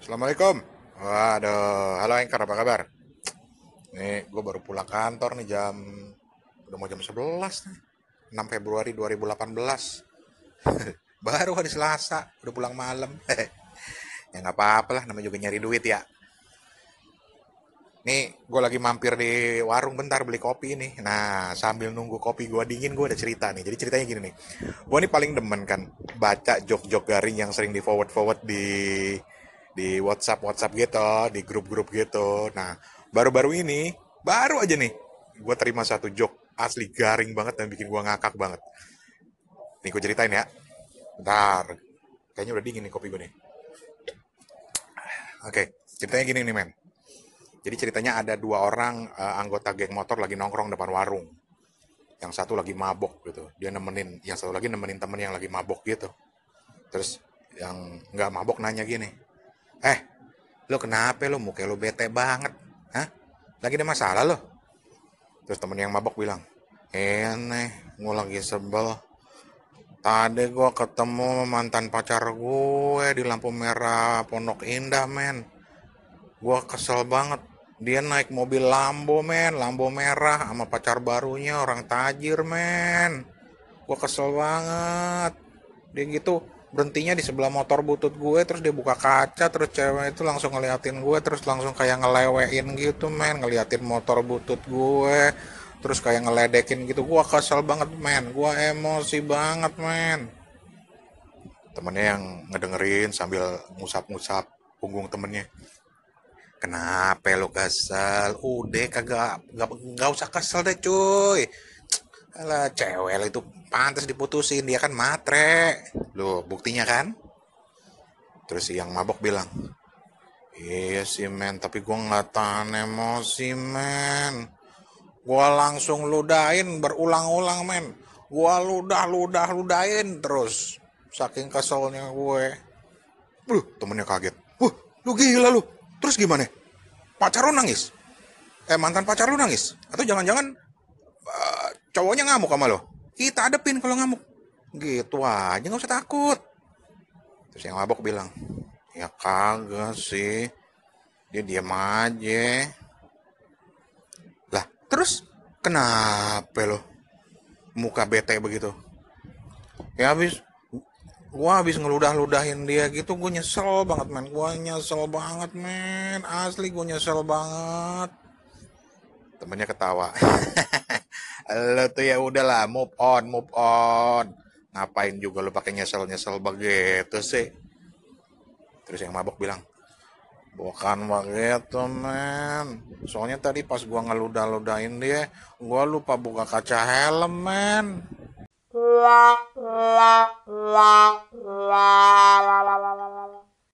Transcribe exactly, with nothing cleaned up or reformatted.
Assalamualaikum. Waduh, halo Engkar, apa kabar? Nih, gue baru pulang kantor nih jam, udah mau jam sebelas nih. enam Februari dua ribu delapan belas. Baru hari Selasa, udah pulang malam. Ya nggak apa-apa lah, namanya juga nyari duit ya. Nih, gue lagi mampir di warung bentar beli kopi nih. Nah, sambil nunggu kopi gue dingin, gue ada cerita nih. Jadi ceritanya gini nih. Gue nih paling demen kan baca jok-jok garing yang sering di forward-forward di di WhatsApp WhatsApp gitu, di grup-grup gitu. Nah, baru-baru ini, baru aja nih, gue terima satu jok asli garing banget dan bikin gue ngakak banget. Nih gue ceritain ya. Bentar, kayaknya udah dingin nih kopi gue nih. Oke, ceritanya gini nih men. Jadi ceritanya ada dua orang eh, anggota geng motor lagi nongkrong depan warung. Yang satu lagi mabok gitu. Dia nemenin, yang satu lagi nemenin temen yang lagi mabok gitu. Terus yang nggak mabok nanya gini, eh, lo kenapa lo muka lo bete banget? Hah? Lagi ada masalah lo? Terus temen yang mabok bilang, ini gue lagi sebel. Tadi gue ketemu mantan pacar gue di lampu merah Pondok Indah, men. Gue kesel banget. Dia naik mobil Lambo, men. Lambo merah sama pacar barunya orang tajir, men. Gue kesel banget. Dia gitu berhentinya di sebelah motor butut gue, terus dia buka kaca, terus cewek itu langsung ngeliatin gue, terus langsung kayak ngelewein gitu men, ngeliatin motor butut gue, terus kayak ngeledekin gitu. Gue kesel banget men, gue emosi banget men. Temennya yang ngedengerin sambil ngusap-ngusap punggung temennya, kenapa lo kesel? Udah kagak, gak, gak usah kesel deh cuy. Alah, cewek lo itu pantas diputusin, dia kan matre. Loh, buktinya kan? Terus yang mabok bilang, iya sih men, tapi gue nggak tahan emosi men. Gue langsung ludahin berulang-ulang men. Gue ludah, ludah, ludahin terus. Saking keselnya gue. Loh, temennya kaget. Wah, lu gila lu. Terus gimana? Pacar lu nangis? Eh, mantan pacar lu nangis? Atau jangan-jangan uh, cowoknya ngamuk sama lo? Kita adepin kalau ngamuk. Gitu aja, nggak usah takut. Terus yang mabok bilang, ya kagak sih. Dia diam aja. Lah, terus kenapa lo muka bete begitu? Ya habis gua habis ngeludah-ludahin dia gitu, gue nyesel banget men. Gua nyesel banget men. Asli gue nyesel banget. Temennya ketawa. Lo tuh ya udahlah, move on, move on. Ngapain juga lo pakai nyesel-nyesel begitu sih? Terus yang mabok bilang, bukan begitu men. Soalnya tadi pas gua ngeludah-ludahin dia, gua lupa buka kaca helm men.